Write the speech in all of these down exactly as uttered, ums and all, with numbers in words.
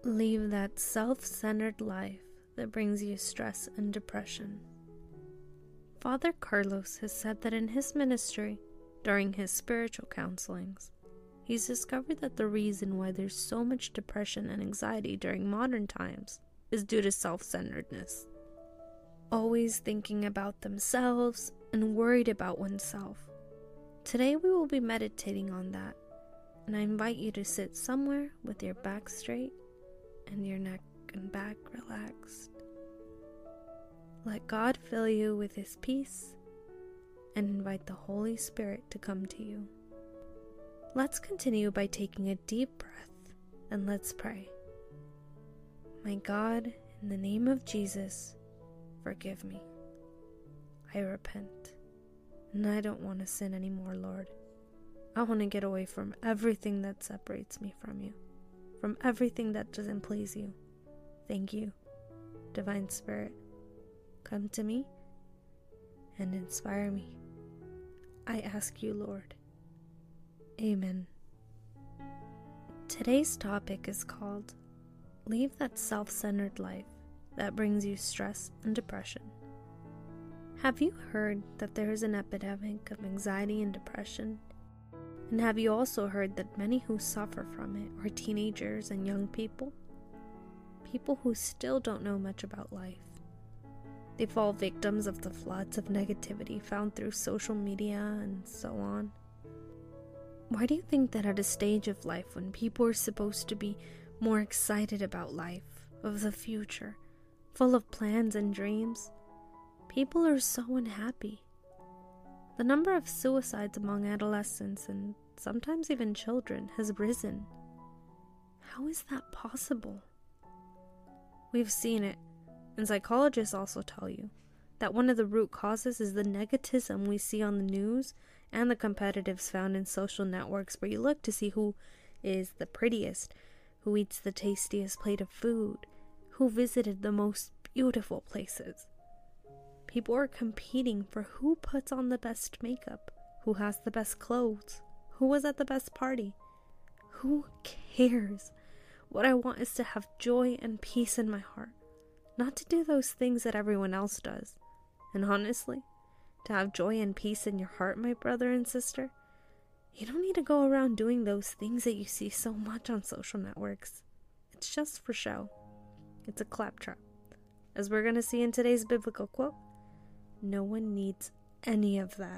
Leave that self-centered life that brings you stress and depression. Father Carlos has said that in his ministry, during his spiritual counselings, he's discovered that the reason why there's so much depression and anxiety during modern times is due to self-centeredness. Always thinking about themselves and worried about oneself. Today we will be meditating on that, and I invite you to sit somewhere with your back straight and your neck and back relaxed. Let God fill you with His peace and invite the Holy Spirit to come to you. Let's continue by taking a deep breath and let's pray. My God, in the name of Jesus, forgive me. I repent, and I don't want to sin anymore, Lord. I want to get away from everything that separates me from you, from everything that doesn't please you. Thank you, Divine Spirit. Come to me and inspire me. I ask you, Lord. Amen. Today's topic is called Leave That Self-Centered Life That Brings You Stress and Depression. Have you heard that there is an epidemic of anxiety and depression? And have you also heard that many who suffer from it are teenagers and young people? People who still don't know much about life. They fall victims of the floods of negativity found through social media and so on. Why do you think that at a stage of life when people are supposed to be more excited about life, of the future, full of plans and dreams, people are so unhappy? The number of suicides among adolescents and sometimes even children has risen. How is that possible? We've seen it, and psychologists also tell you that one of the root causes is the negativism we see on the news and the competitives found in social networks where you look to see who is the prettiest, who eats the tastiest plate of food, who visited the most beautiful places. People are competing for who puts on the best makeup, who has the best clothes, who was at the best party. Who cares? What I want is to have joy and peace in my heart, not to do those things that everyone else does. And honestly, to have joy and peace in your heart, my brother and sister, you don't need to go around doing those things that you see so much on social networks. It's just for show. It's a claptrap. As we're going to see in today's biblical quote, no one needs any of that.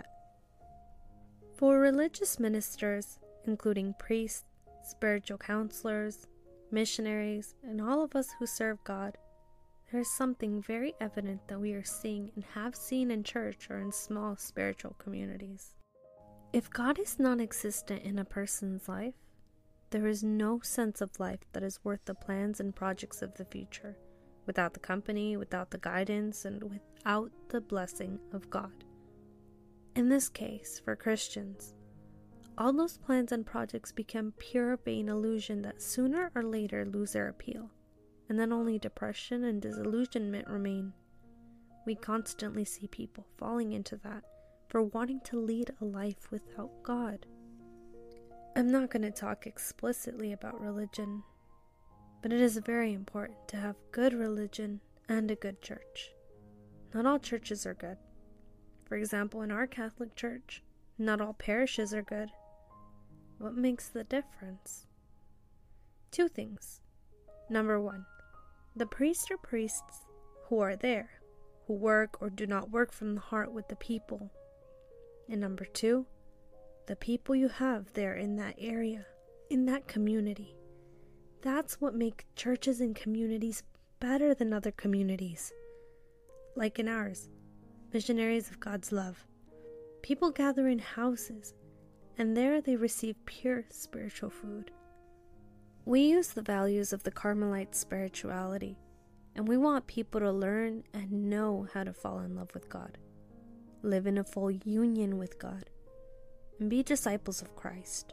For religious ministers, including priests, spiritual counselors, missionaries, and all of us who serve God, there is something very evident that we are seeing and have seen in church or in small spiritual communities. If God is non-existent in a person's life, there is no sense of life that is worth the plans and projects of the future, without the company, without the guidance, and without the blessing of God. In this case, for Christians, all those plans and projects become pure vain illusion that sooner or later lose their appeal, and then only depression and disillusionment remain. We constantly see people falling into that for wanting to lead a life without God. I'm not going to talk explicitly about religion, but it is very important to have good religion and a good church. Not all churches are good. For example, in our Catholic Church, not all parishes are good. What makes the difference? Two things. Number one, the priests or priests who are there, who work or do not work from the heart with the people. And number two, the people you have there in that area, in that community. That's what makes churches and communities better than other communities. Like in ours, missionaries of God's love. People gather in houses, and there they receive pure spiritual food. We use the values of the Carmelite spirituality, and we want people to learn and know how to fall in love with God, live in a full union with God, and be disciples of Christ.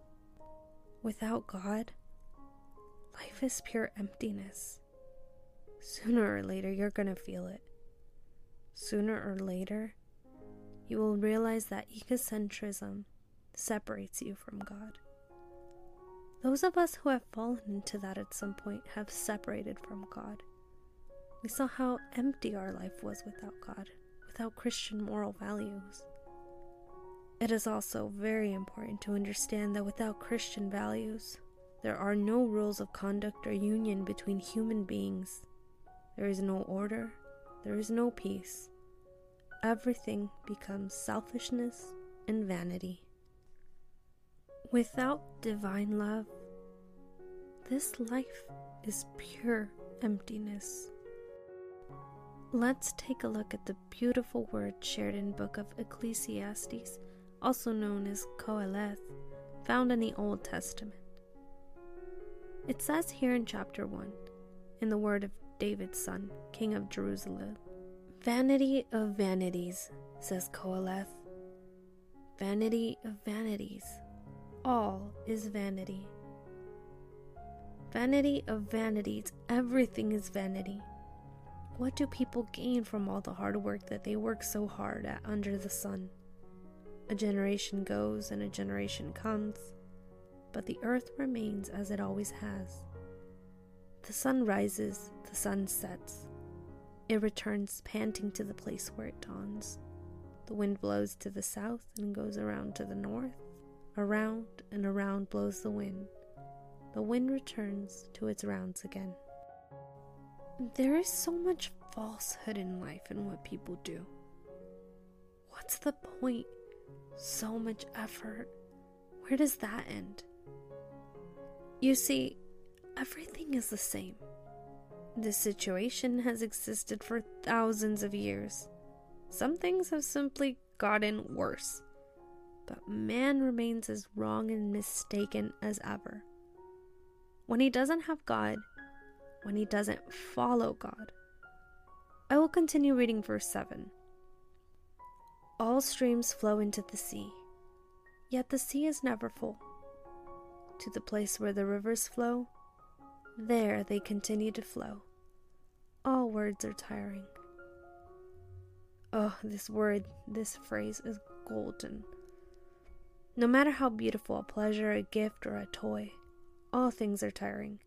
Without God, life is pure emptiness. Sooner or later, you're going to feel it. Sooner or later, you will realize that egocentrism separates you from God. Those of us who have fallen into that at some point have separated from God. We saw how empty our life was without God, without Christian moral values. It is also very important to understand that without Christian values, there are no rules of conduct or union between human beings. There is no order, there is no peace. Everything becomes selfishness and vanity. Without divine love, this life is pure emptiness. Let's take a look at the beautiful words shared in the book of Ecclesiastes, also known as Qoheleth, found in the Old Testament. It says here in chapter one, in the word of David's son, king of Jerusalem, "Vanity of vanities," says Qoheleth. "Vanity of vanities. All is vanity. Vanity of vanities. Everything is vanity. What do people gain from all the hard work that they work so hard at under the sun? A generation goes and a generation comes, but the earth remains as it always has. The sun rises, the sun sets. It returns panting to the place where it dawns. The wind blows to the south and goes around to the north. Around and around blows the wind. The wind returns to its rounds again." There is so much falsehood in life and what people do. What's the point? So much effort. Where does that end? You see, everything is the same. This situation has existed for thousands of years. Some things have simply gotten worse. But man remains as wrong and mistaken as ever. When he doesn't have God, when he doesn't follow God. I will continue reading verse seven. "All streams flow into the sea, yet the sea is never full. To the place where the rivers flow, there they continue to flow. All words are tiring." Oh, this word, this phrase is golden. No matter how beautiful a pleasure, a gift, or a toy, all things are tiring.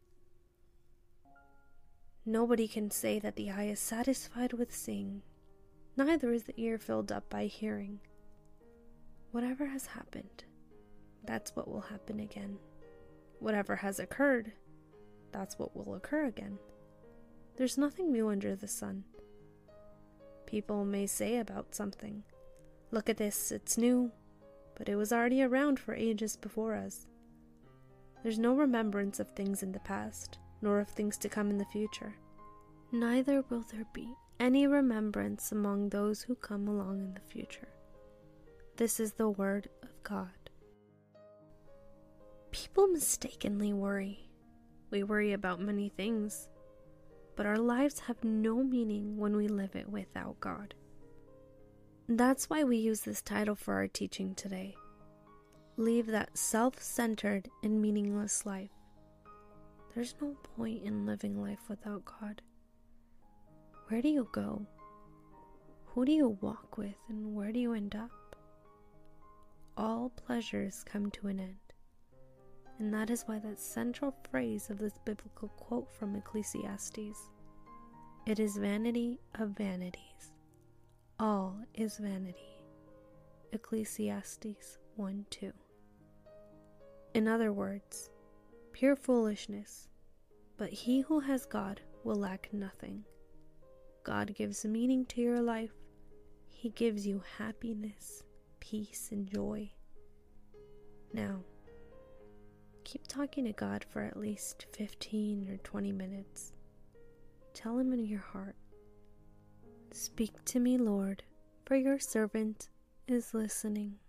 Nobody can say that the eye is satisfied with seeing, neither is the ear filled up by hearing. Whatever has happened, that's what will happen again. Whatever has occurred, that's what will occur again. There's nothing new under the sun. People may say about something, "Look at this, it's new," but it was already around for ages before us. There's no remembrance of things in the past, nor of things to come in the future. Neither will there be any remembrance among those who come along in the future. This is the word of God. People mistakenly worry. We worry about many things, but our lives have no meaning when we live it without God. That's why we use this title for our teaching today. Leave that self-centered and meaningless life. There's no point in living life without God. Where do you go? Who do you walk with, and where do you end up? All pleasures come to an end. And that is why that central phrase of this biblical quote from Ecclesiastes, "It is vanity of vanities. All is vanity." Ecclesiastes one two. In other words, pure foolishness, but he who has God will lack nothing. God gives meaning to your life. He gives you happiness, peace, and joy. Now, keep talking to God for at least fifteen or twenty minutes. Tell him in your heart, "Speak to me, Lord, for your servant is listening."